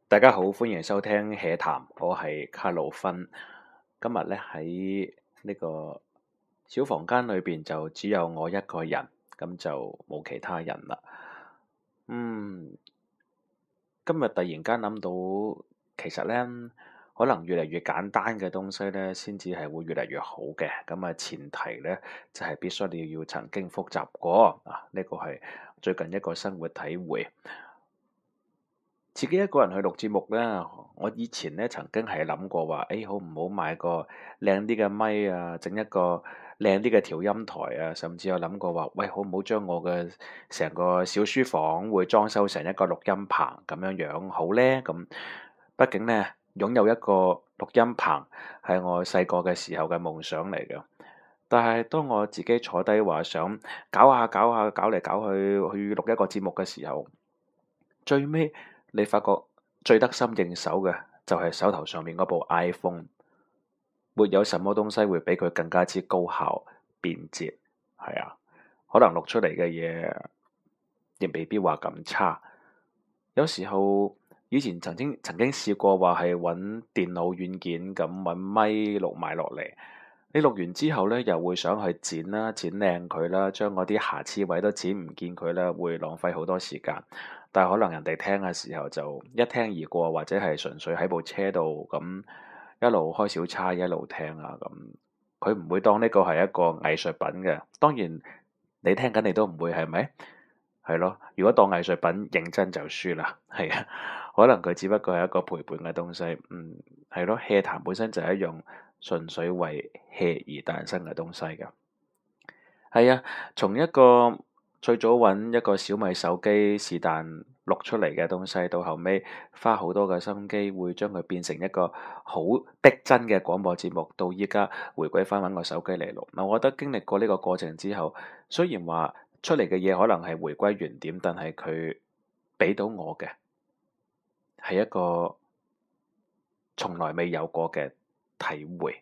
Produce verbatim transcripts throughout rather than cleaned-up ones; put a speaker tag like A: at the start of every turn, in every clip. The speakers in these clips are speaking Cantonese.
A: 大家好，歡迎收聽《HEA 談》，我係卡路芬。今日咧喺呢個小房間裏邊就只有我一個人，咁就冇其他人啦。嗯，今日突然間諗到，其實咧可能越嚟越簡單嘅東西咧，先至係會越嚟越好嘅。咁啊，前提咧就係、是、必須你要曾經複習過啊。呢、這個係最近一個生活體會。自己一個人去錄節目咧，我以前咧曾經係諗過話，誒、哎、好唔好買個靚啲嘅咪啊，整一個靚啲嘅調音台啊，甚至有諗過話，喂，好唔好將我嘅成個小書房會裝修成一個錄音棚咁樣樣好咧？咁畢竟咧擁有一個錄音棚係我細個嘅時候嘅夢想嚟嘅，但係當我自己坐低話想搞下搞下搞嚟搞去去錄一個節目嘅時候，最尾你發覺最得心應手嘅就係手頭上面嗰部 iPhone，沒有什麼東西會比佢更加之高效便捷。係啊，可能錄出嚟嘅嘢亦未必話咁差。有時候以前曾經曾經試過話係揾電腦軟件咁揾咪錄埋落嚟，你錄完之後咧又會想去剪啦，剪靚佢啦，將嗰啲瑕疵位都剪唔見佢啦，會浪費好多時間。但係可能人哋聽嘅時候就一聽而過，或者係純粹喺部車度咁一路開小差一路聽啊，咁佢唔會當呢個係一個藝術品嘅。當然你聽緊你都唔會，係咪？係咯，如果當藝術品認真就輸啦。係啊，可能佢只不過係一個陪伴嘅東西。嗯，係咯，HEA 談本身就係一樣純粹為 HEA 而誕生嘅東西㗎。係啊，從一個最早揾一個小米手機是但錄出嚟嘅東西，到後尾花好多嘅心機，會將佢變成一個好逼真嘅廣播節目，到依家回歸翻揾個手機嚟錄。嗱，我覺得經歷過呢個過程之後，雖然話出嚟嘅嘢可能係回歸原點，但係佢俾到我嘅係一個從來未有過嘅體會。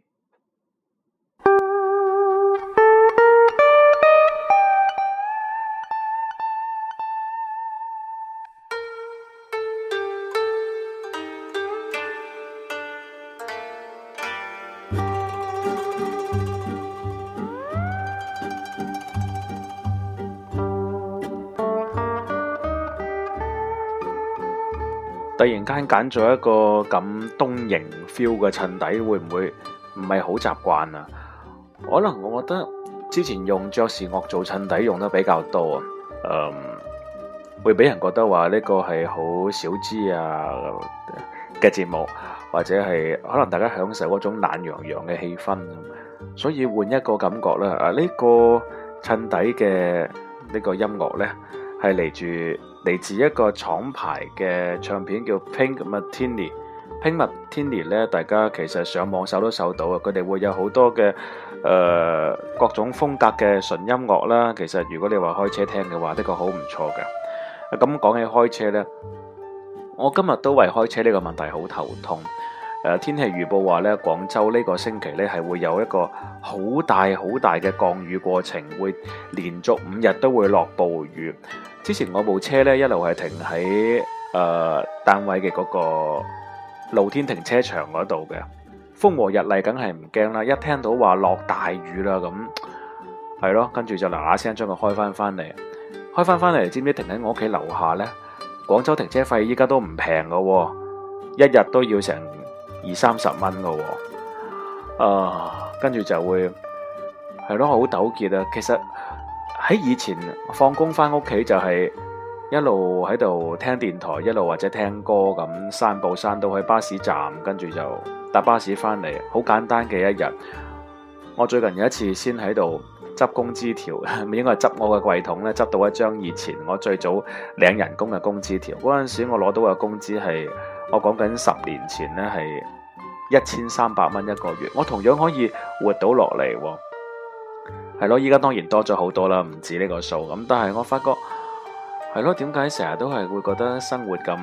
A: 突然間揀咗一個咁東瀛 feel 嘅襯底，會唔會唔係好習慣啊？可能我覺得之前用爵士樂做襯底用得比較多啊，嗯，會俾人覺得話呢個係好小資啊嘅節目，或者係可能大家享受嗰種懶洋洋嘅氣氛，所以換一個感覺啦。啊，呢個襯底嘅呢個音樂呢，係嚟住。嚟自一個廠牌嘅唱片叫 Pink Martini。Pink Martini 咧，大家其實上網搜都搜到啊。佢哋會有好多嘅誒、呃、各種風格嘅純音樂啦。其實如果你話開車聽嘅話，呢個好唔錯嘅。咁講起開車咧，我今日都為開車呢個問題好頭痛。誒、呃、天氣預報話咧，廣州呢個星期咧係會有一個好大好大嘅降雨過程，會連續五日都會落暴雨。之前我部車咧一路係停喺誒、呃、單位嘅嗰個露天停車場嗰度嘅，風和日麗梗係唔驚啦。一聽到話落大雨啦，咁係咯，跟住就嗱嗱聲將佢開翻翻嚟，開翻翻嚟，知唔知停喺我屋企樓下呢？廣州停車費依家都唔平噶，一日都要成二三十蚊噶，啊，跟住就會係咯，好糾結啊。其實喺以前放工翻屋企就係一路喺度聽電台，一路或者聽歌咁散步散到去巴士站，跟住就搭巴士翻嚟，好簡單嘅一日。我最近有一次先喺度執工資條，應該係執我嘅櫃桶咧，執到一張以前我最早領人工嘅工資條。嗰陣時我攞到嘅工資係我講緊十年前咧係一千三百蚊一個月，我同樣可以活到落嚟。係咯，依家當然多咗好多啦，唔止呢個數咁。但係我發覺係咯，點解成日都係會覺得生活咁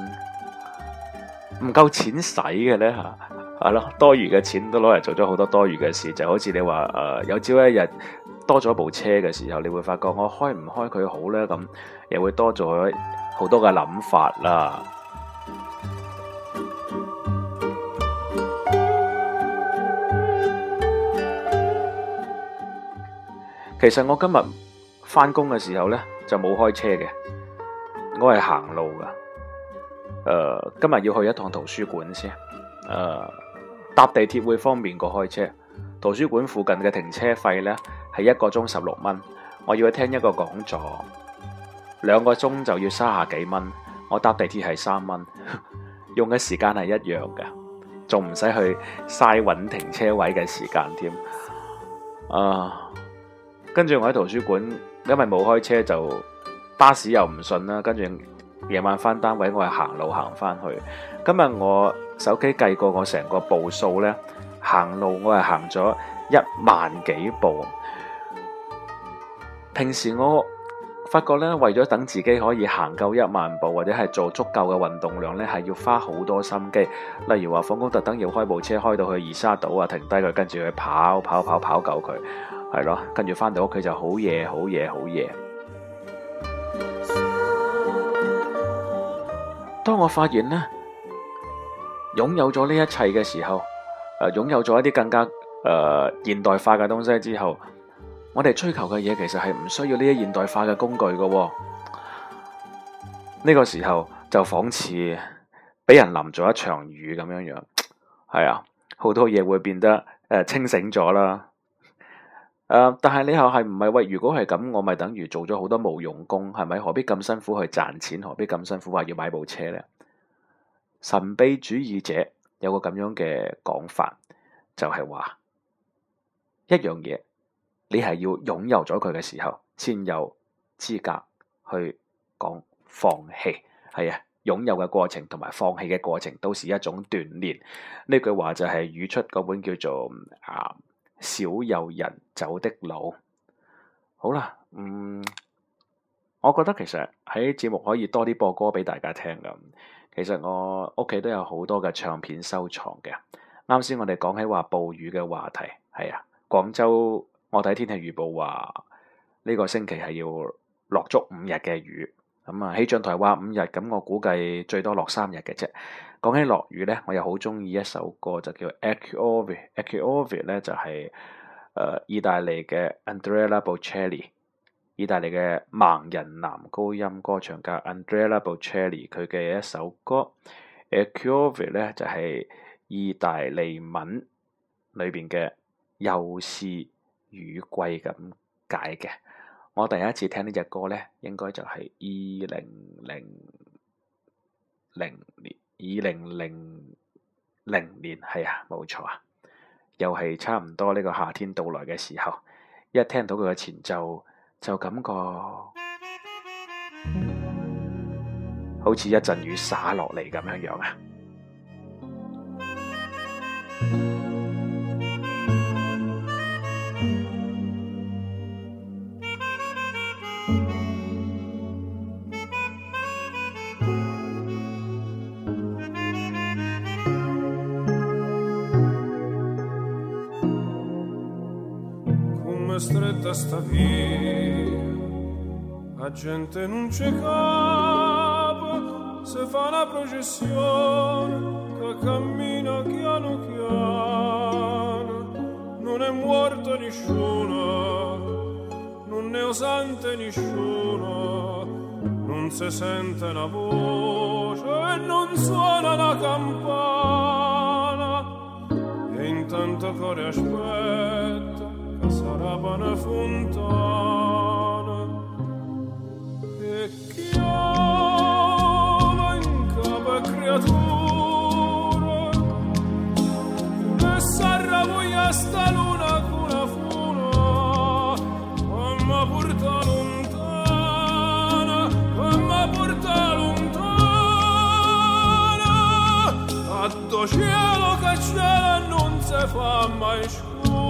A: 唔夠錢使嘅呢？吓？係咯，多餘嘅錢都攞嚟做咗好多多餘嘅事，就好似你話誒、呃，有朝一日多咗部車嘅時候，你會發覺我開唔開佢好呢？咁又會多咗好多嘅諗法啦。 其實我今日翻工嘅時候呢，就冇開車嘅，我係行路噶。誒、呃，今日要去一趟圖書館先。誒、呃，搭地鐵會方便過開車。圖書館附近嘅停車費呢，係一個鐘十六蚊，我要去聽一個講座，兩個鐘就要三十幾蚊。我搭地鐵係三蚊，用嘅時間係一樣嘅，仲唔使去嘥揾停車位嘅時間添。啊，跟住我喺圖書館，因為冇開車就巴士又唔順啦，跟住夜晚翻單位我係行路行翻去。今日我手機計過我成個步數呢，行路我係行咗一萬幾步。平時我發覺咧，為咗等自己可以行夠一萬步，或者係做足夠嘅運動量咧，係要花好多心機。例如話放工特登要開部車開到去二沙島啊，停低佢，跟住去跑跑跑跑夠佢，係咯，跟住翻到屋企就好夜好夜好夜。當我發現咧，擁有咗呢一切嘅時候，誒、呃，擁有咗一啲更加誒、呃、現代化嘅東西之後，我哋追求嘅嘢其實係唔需要呢啲現代化嘅工具嘅、哦。呢、這個時候就仿似俾人淋咗一場雨咁樣樣，係啊，好多嘢會變得誒、呃、清醒咗啦。誒、呃，但係你又係唔係喂？如果係咁，我咪等於做咗好多無用功，係咪？何必咁辛苦去賺錢？何必咁辛苦話要買部車呢？神秘主義者有個咁樣嘅講法，就係、是、話一樣嘢。你係要擁有咗佢嘅時候，先有資格去講放棄。係啊，擁有嘅過程同埋放棄嘅過程都是一種鍛煉。呢句話就係語出嗰本叫做啊少有人走的路。好啦，嗯，我覺得其實喺節目可以多啲播歌俾大家聽㗎。其實我屋企都有好多嘅唱片收藏嘅。啱先我哋講起話暴雨嘅話題，係啊，廣州。我睇天氣預報話呢個星期係要落足五日嘅雨，咁啊氣象台話五日，咁我估計最多落三日嘅啫。講起落雨咧，我又好中意一首歌，就叫 Acquavi，Acquavi 咧就係、是、誒、呃、意大利嘅 Andrea Bocelli， 意大利嘅盲人男高音歌唱家 Andrea Bocelli 佢嘅一首歌 Acquavi 咧就係、是、意大利文裏邊嘅又是雨季咁解嘅。我第一次聽呢隻歌咧，應該就係二零零零年，二零零零年係啊，冇錯啊，又係差唔多呢個夏天到來嘅時候，一聽到佢嘅前奏，就感覺好似一陣雨灑落嚟咁樣樣啊！
B: Stretta sta via, la gente non c'è capo, se fa una processione che cammina piano piano, non è morto nessuno, non ne osante nessuno, non si sente una voce e non suona la campana, e intanto cuore aspetta sarà una fontana e chiama in capo a creatura e s'arrabuglia sta luna con la funa ma porta lontana ma porta lontana a do cielo che cielo non si fa mai scuro.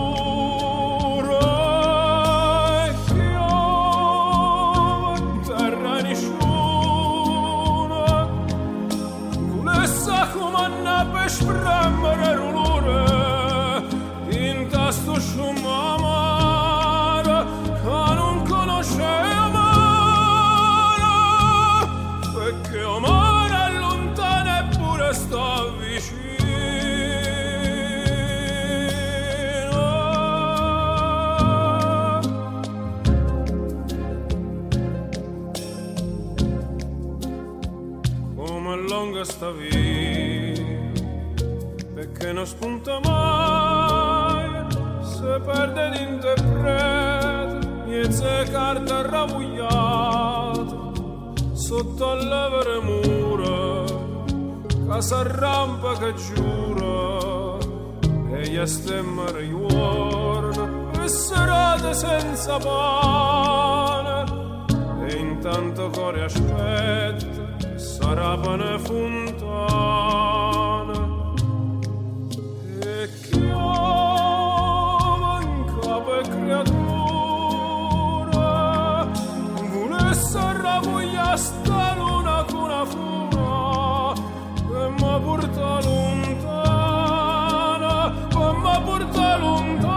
B: Spremmere rulure in tasto sciumamare che non conosce amare perché amare è lontano eppure sta vicino come lunga sta via, perché non spunta mai, se perde l'interprete, niente carta ravugliata, sotto alle vere mura, che s'arrampa che giura, e gli stemmere giorno, e serate senza pane, e intanto cuore aspetta, sarà pane fontana, e chiama in capo e creatura, volesse ravuglia sta luna con una funa, e mi porta lontana, e mi porta lontana,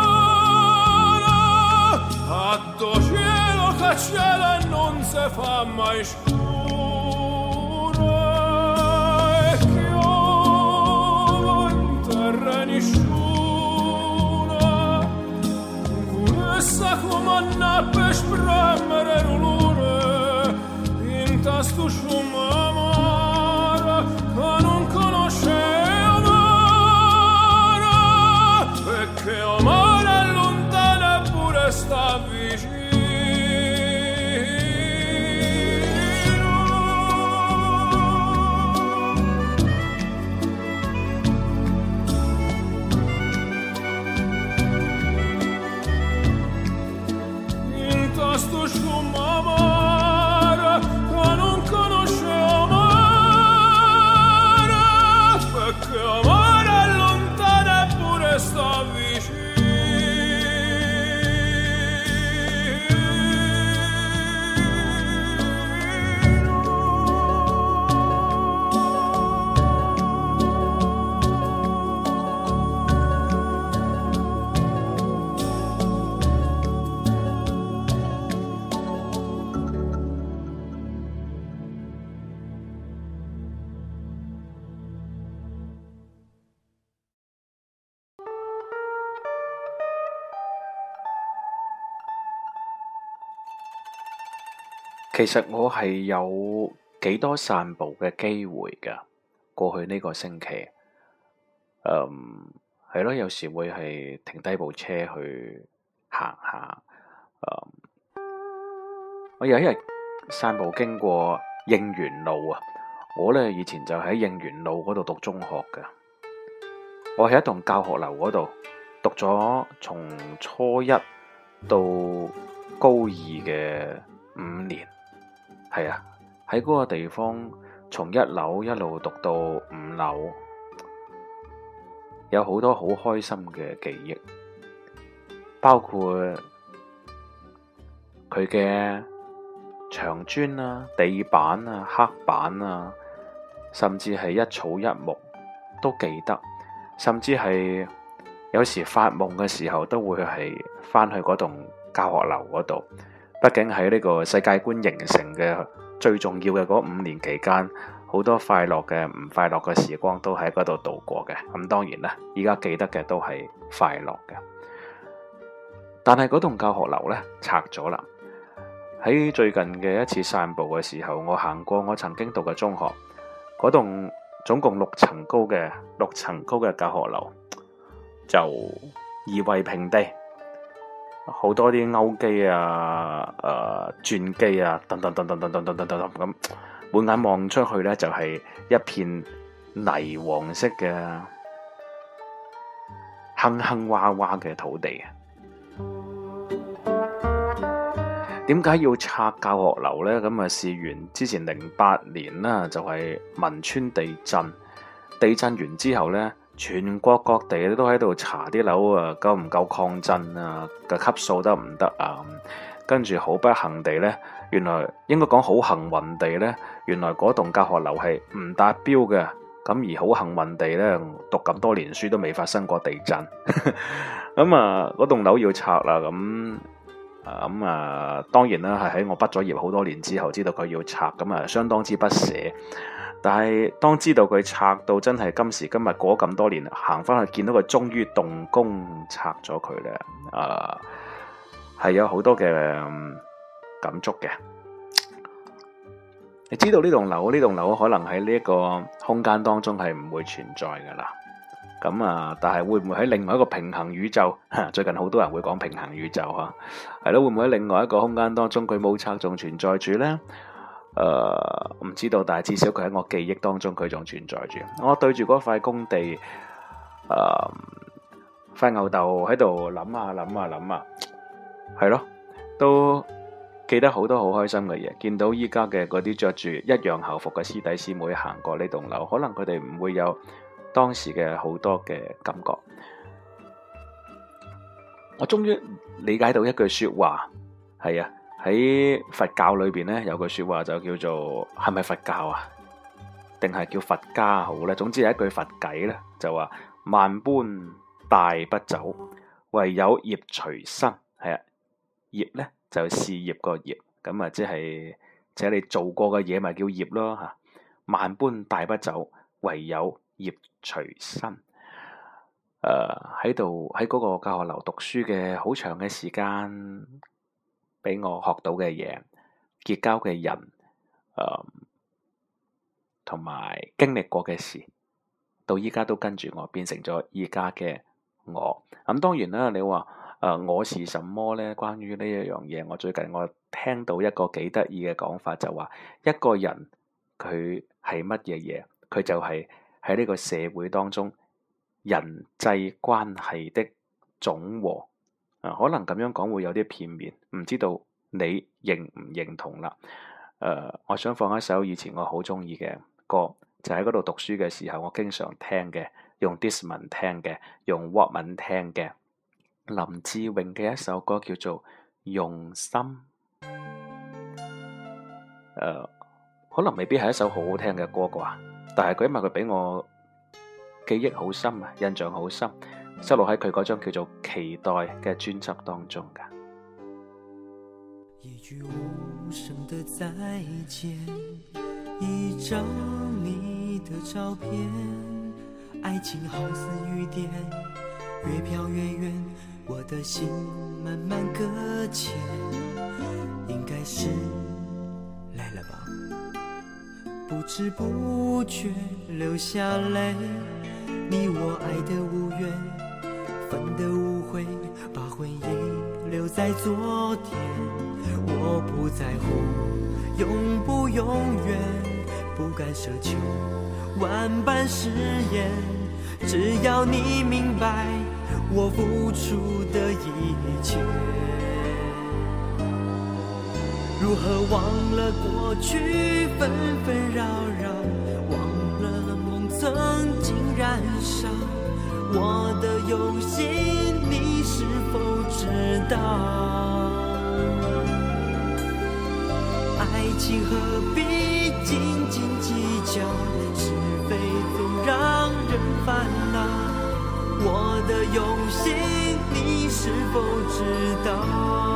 B: a do cielo che cielo e non si fa mai scuro, e chiama in terra nessuna, volesse comandare per spremere l'olore, in tasto sciuma amara, che non conosce amara, perché amare è lontana eppure sta vicino. In tasto sciuma amara, che non conosce amara, perché amare è lontana eppure sta vicino.
A: 其實我係有幾多散步嘅機會㗎，過去呢個星期，嗯，係咯，有時會係停低部車去行下，嗯，我有一日散步經過應元路啊，我咧以前就喺應元路嗰度讀中學㗎，我喺一棟教學樓嗰度讀咗從初一到高二嘅五年。係啊，喺嗰個地方，從一樓一路讀到五樓，有好多好開心嘅記憶，包括佢嘅牆磚啊、地板啊、黑板啊，甚至係一草一木都記得，甚至係有時發夢嘅時候都會係返去嗰棟教學樓嗰度。畢竟喺呢個世界觀形成嘅最重要嘅嗰五年期間，好多快樂嘅、唔快樂嘅時光都喺嗰度度過嘅。咁當然啦，依家記得嘅都係快樂嘅。但係嗰棟教學樓呢，拆咗啦。喺最近嘅一次散步嘅時候，我行過我曾經讀嘅中學，嗰棟總共六層高嘅六層高嘅教學樓就夷為平地。好多啲勾機啊、誒、呃、轉機啊，等等等等等等等等等咁，滿眼望出去咧就係、是、一片泥黃色嘅坑坑洼洼嘅土地。點解要拆教學樓咧？咁啊，事緣之前零八年啦，就係、是、汶川地震，地震完之後咧。全國各地都喺度查啲樓啊，夠唔夠抗震啊？個級數得唔得啊？跟住好不幸地呢，原來應該講好幸運地呢，原來嗰棟教學樓係唔達標嘅。咁而好幸運地呢，讀咁多年書都未發生過地震。咁啊，嗰棟樓要拆啦。咁啊咁啊，當然啦，係喺我畢咗業好多年之後，知道佢要拆，咁啊，相當之不捨。但係當知道佢拆到真係今時今日過咁多年，行翻去見到佢終於動工拆咗佢咧，啊，係有好多嘅感觸嘅。 你知道呢棟樓呢棟樓可能喺呢一個空間當中係唔會存在噶啦。咁啊，但係會唔會喺另外一個平衡宇宙？最近好多人會講平衡宇宙嚇，係咯，會唔會喺另外一個空間當中佢冇拆仲存在住呢？誒、呃，唔知道，但係至少佢喺我記憶當中佢仲存在住。我對住嗰塊工地，誒、呃，塊牛豆喺度諗下諗下諗下，係咯，都記得好多好開心嘅嘢。見到依家嘅嗰啲着住一樣校服嘅師弟師妹行過呢棟樓，可能佢哋唔會有當時嘅好多嘅感覺。我終於理解到一句說話，係啊，喺佛教裏邊咧有句說話就叫做，係咪佛教啊？定係叫佛家好咧？總之係一句佛偈咧，就話萬般帶不走，唯有業隨身。係啊，業咧就事業個業，咁啊即係即係你做過嘅嘢咪叫業咯吓。萬般帶不走，唯有業隨身。誒，喺度喺嗰個教學樓讀書嘅好長嘅時間，俾我學到嘅嘢，結交嘅人，誒、呃，同埋經歷過嘅事，到依家都跟住我，變成咗依家嘅我。咁、嗯、當然啦，你話誒、呃、我是什麼咧？關於呢一樣嘢，我最近我聽到一個幾得意嘅講法，就話一個人佢係乜嘢嘢，佢就係喺呢個社會當中人際關係的總和。啊，可能咁樣講會有啲片面，唔知道你認唔認同啦。誒、呃，我想放一首以前我好中意嘅歌，就喺嗰度讀書嘅時候，我經常聽嘅，用 Discman 聽嘅，用 Walkman 聽嘅，林志穎嘅一首歌叫做《用心》。誒、呃，可能未必係一首好好聽嘅歌啩，但係佢因為佢俾我記憶好深啊，印象好深，收錄喺佢嗰張叫做《期待》嘅專輯當中噶。
C: 一句無聲的再見，一張你的照片，愛情好似雨點，越飄越遠，我的心慢慢擱淺，應該是來了吧，不知不覺流下淚，你我愛的無緣，分的無悔，把回憶留在昨天，我不在乎永不永遠，不敢奢求萬般誓言，只要你明白我付出的一切。如何忘了過去紛紛擾擾，忘了夢曾經燃燒，我的用心你是否知道？愛情何必斤斤計較，是非總讓人煩惱，我的用心你是否知道？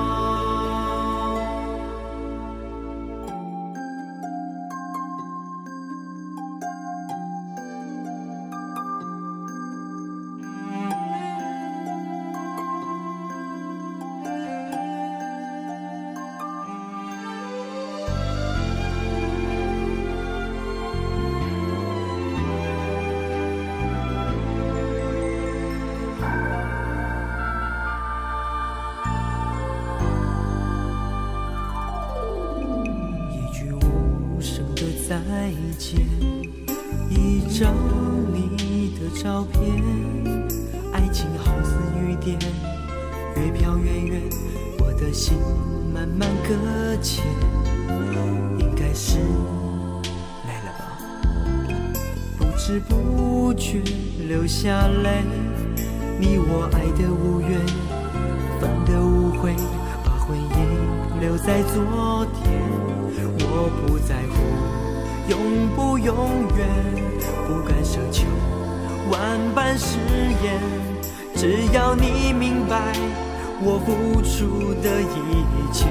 C: 再見，一張你的照片，愛情好似雨點，越飄越遠，我的心慢慢擱淺，應該是來了吧，不知不覺流下淚，你我愛的無緣，分的無悔，把回憶留在昨天，我不在乎永不永遠，不敢奢求萬般誓言，只要你明白我付出的一切。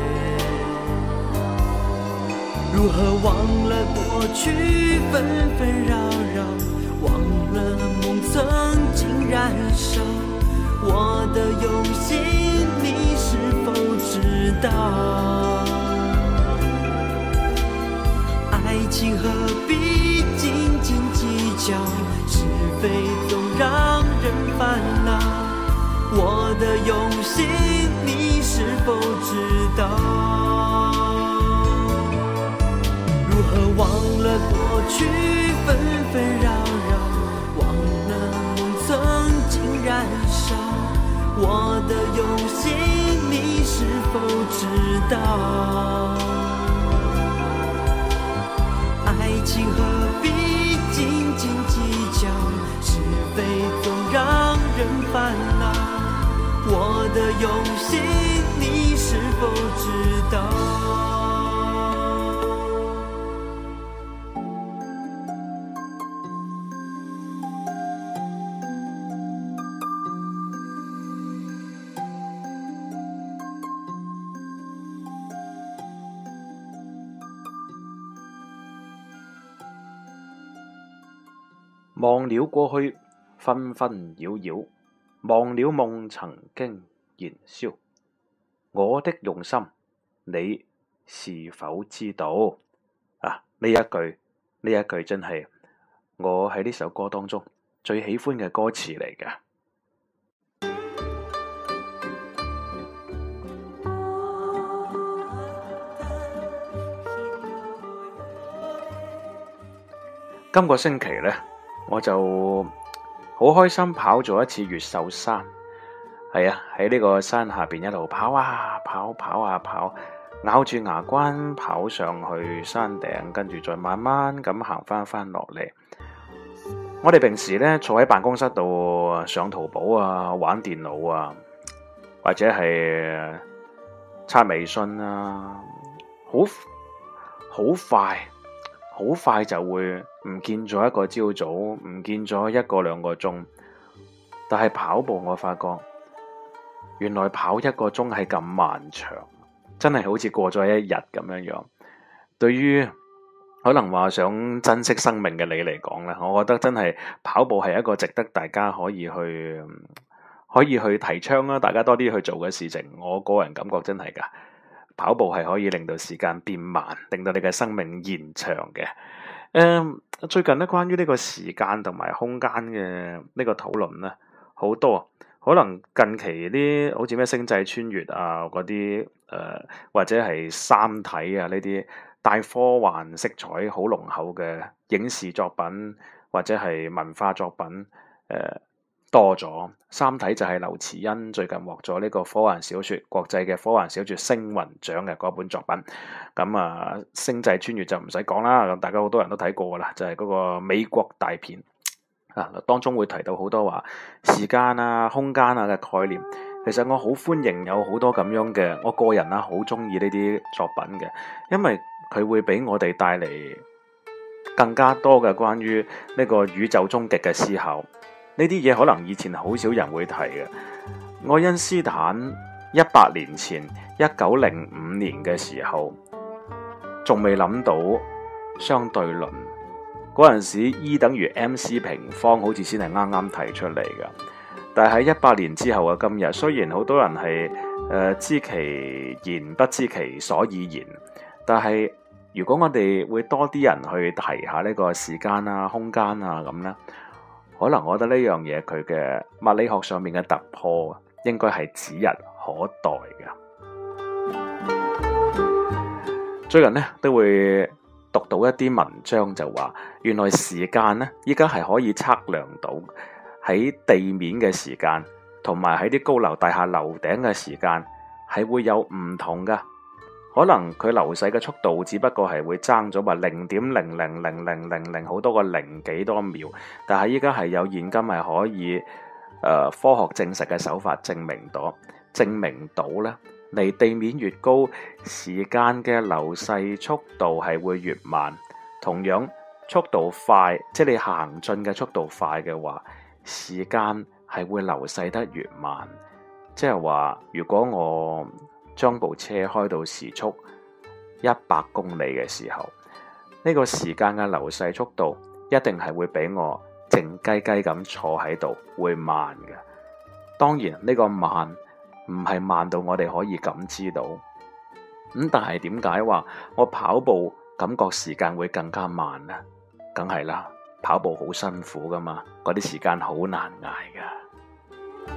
C: 如何忘了過去紛紛擾擾，忘了夢曾經燃燒，我的用心你是否知道？ 情何必斤斤计较，是非总让人烦恼。我的用心你是否知道？如何忘了过去纷纷扰扰，忘了梦曾经燃烧。我的用心你是否知道？爱情何必斤斤计较，是非总让人烦恼。我的用心你是否知道？
A: 忘了過去紛紛擾擾，忘了夢曾經燃燒。我的用心，你是否知道？啊！呢一句呢一句真係我喺呢首歌當中最喜歡嘅歌詞嚟嘅。今個星期呢，我就好開心跑咗一次越秀山。係啊，喺呢個山下邊一路跑啊跑跑啊跑，咬住牙關跑上去山頂，跟住再慢慢咁行翻翻落嚟。我哋平時咧坐喺辦公室度上淘寶啊，玩電腦啊，或者係刷微信啊，好好快好快就會唔見咗一個朝早，唔見咗一個兩個鐘。但係跑步我發覺原來跑一個鐘係咁漫長，真係好似過咗一日咁樣樣。對於可能話想珍惜生命嘅你嚟講咧，我覺得真係跑步係一個值得大家可以去可以去提倡啦，大家多啲去做嘅事情。我個人感覺真係噶，跑步係可以令到時間變慢，令到你嘅生命延長嘅。誒、嗯，最近咧關於呢個時間同埋空間嘅呢個討論咧，好多。可能近期啲好似咩星際穿越啊嗰啲誒，或者係三體啊呢啲帶科幻色彩好濃厚嘅影視作品或者係文化作品誒、呃、多咗。三體就係劉慈欣最近獲咗呢個科幻小説國際嘅科幻小説星雲獎嘅嗰本作品。咁啊，星際穿越就唔使講啦，咁大家好多人都睇過噶啦，就係、是、嗰個美國大片。啊，當中會提到好多話時間啊、空間啊嘅概念。其實我好歡迎有好多咁樣嘅，我個人啊好中意呢啲作品嘅，因為佢會俾我哋帶嚟更加多嘅關於呢個宇宙終極嘅思考。呢啲嘢可能以前好少人會提嘅。愛因斯坦一百年前一九零五年嘅時候，仲未諗到相對論。嗰陣時 E 等於 M C 平方好似先係啱啱提出嚟㗎，但係喺一百年之後嘅今日，雖然好多人係誒、呃、知其然不知其所以然，但係如果我哋會多啲人去提下呢個時間啊、空間啊咁咧，可能我覺得呢樣嘢佢嘅物理學上面嘅突破應該係指日可待嘅。最近咧都會讀到一啲文章就話，原來時間咧依家係可以測量到喺地面嘅時間，同埋喺啲高樓大廈樓頂嘅時間係會有唔同噶。可能佢流逝嘅速度只不過係會爭咗話零點零零零零零零好多個零幾多秒，但係依家係有現今係可以誒、呃、科學證實嘅手法證明到，證明到咧。離地面越高，時間嘅流逝速度係會越慢。同樣速度快，即係你行進嘅速度快嘅話，時間係會流逝得越慢。即係話，如果我將部車開到時速一百公里嘅時候，呢個時間嘅流逝速度一定係會比我靜雞雞咁坐喺度會慢嘅。當然呢個慢唔係慢到我哋可以感知到，咁但係點解話我跑步感覺時間會更加慢啊？梗係啦，跑步好辛苦噶嘛，嗰啲時間好難捱噶。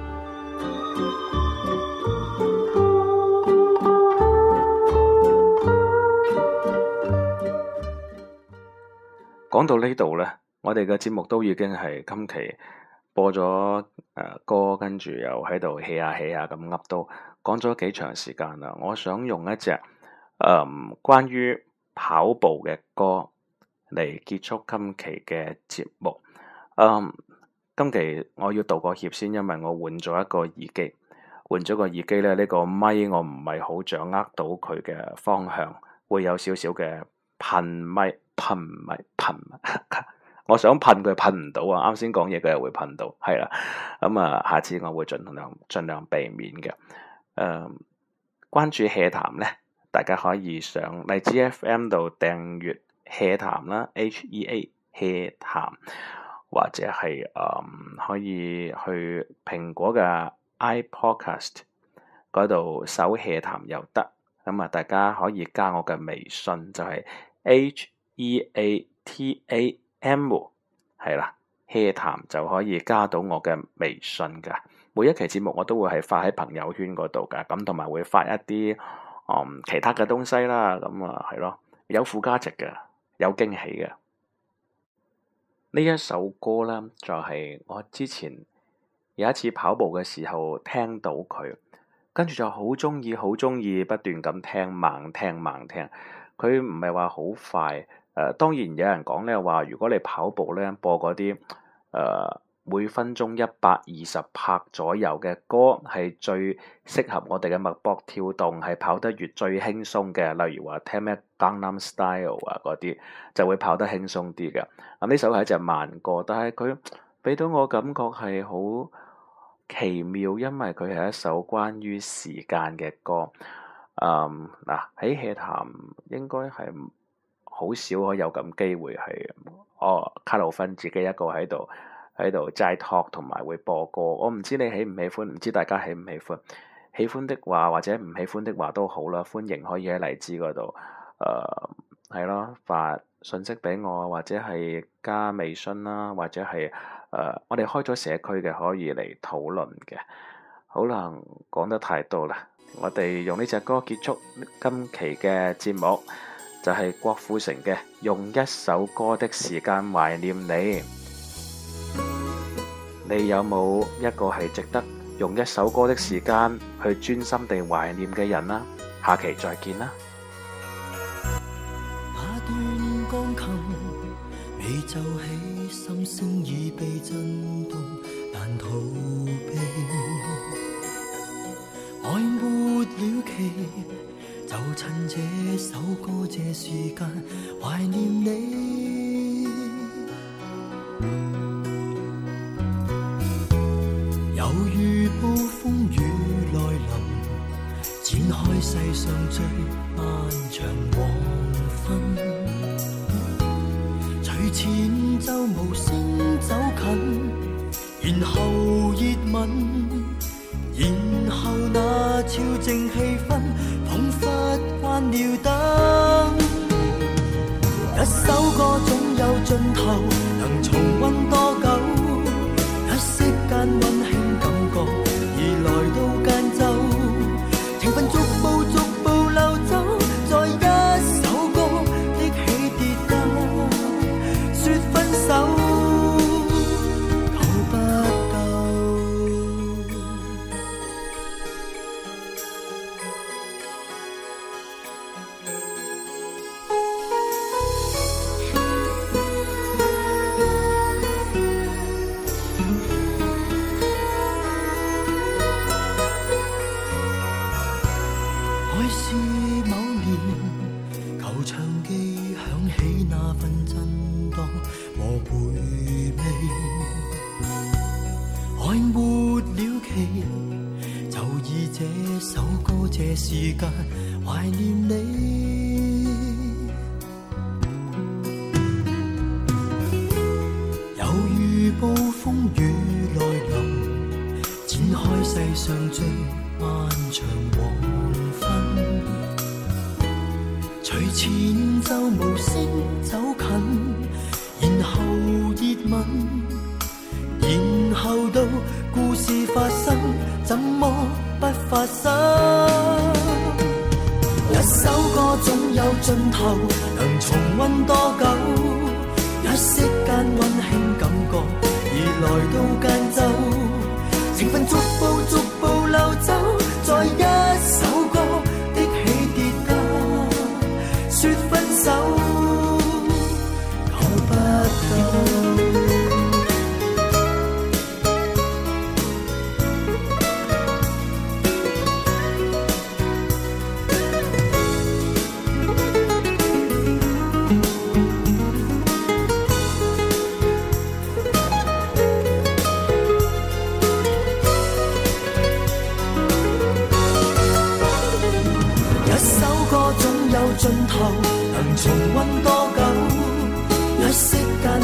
A: 講到呢度呢，我哋嘅節目都已經係今期播咗誒、呃、歌，跟住又喺度 hea 下 hea 下咁噏，都講咗幾長時間啦。我想用一隻誒、呃、關於跑步嘅歌嚟結束今期嘅節目。嗯，今期我要道個歉先，因為我換咗一個耳機，換咗個耳機咧，呢、呢個咪我唔係好掌握到佢嘅方向，會有少少嘅噴咪。噴咪噴，我想噴佢噴唔到啊！啱先講嘢佢又會噴到，係啦。咁、嗯、啊，下次我會盡量盡量避免嘅。誒、嗯，關注 hea 談咧，大家可以上荔枝 F M 度訂閱 hea 談啦 ，H E A hea 談，或者係誒、嗯、可以去蘋果嘅 iPodcast 嗰度搜 hea 談又得。咁、嗯、啊，大家可以加我嘅微信，就係、是、H E A T A M 係啦 hea 談就可以加到我嘅微信噶。每一期節目我都會係發喺朋友圈嗰度噶，咁同埋會發一啲嗯其他嘅東西啦。咁啊係咯，有附加值嘅，有驚喜嘅。呢一首歌啦，就係、是、我之前有一次跑步嘅時候聽到佢，跟住就好中意，好中意不斷咁聽，猛聽猛聽。佢唔係話好快。誒、呃、當然有人講咧話，如果你跑步咧播嗰啲誒每分鐘一百二十拍左右嘅歌，係最適合我哋嘅脈搏跳動，係跑得越最輕鬆嘅。例如話聽咩 Gangnam Style 啊嗰啲，就會跑得輕鬆啲嘅。咁呢首係一隻慢歌，但係佢俾到我感覺係好奇妙，因為佢係一首關於時間嘅歌。嗯嗱喺 hea 談應該係好少可有咁機會係哦卡路芬自己一個喺度喺度齋 talk 同埋會播歌。我唔知你喜唔喜歡，唔知大家喜唔喜歡。喜歡的話或者唔喜歡的話都好啦，歡迎可以喺荔枝嗰度誒係咯發信息俾我，或者係加微信啦，或者係誒、呃、我哋開咗社區嘅可以嚟討論嘅。好啦，講得太多啦，我哋用呢隻歌結束今期嘅節目，就係郭富城嘅《用一首歌的時間懷念你》。你有冇一個係值得用一首歌的時間去專心地懷念嘅人啊？下期再見啦！
C: 那段鋼琴未奏起，心聲已被震動，難逃避。愛沒了期，就趁這首歌這時間懷念你。猶如暴風雨來臨，展開世上最漫長黃昏。隨前奏無聲走近，然後熱吻，然後那超靜氣氛，彷彿關了燈。一首歌總有盡頭，能重溫多久？一息間溫馨感覺，而來到間奏，情分逐步逐步流走，在一首歌的起跌間，說分手。時間懷念你，猶如暴風雨來臨，展開世上最漫長黃昏。隨隨前奏無聲走近，然後熱吻，然後到故事發生，怎麼不發生？一首歌總有盡頭，能重溫多久？一息間溫馨感覺已來到間奏，情分逐步逐步流走，在一首歌的起跌間說分手，求不到。盡頭能重溫多久？一息間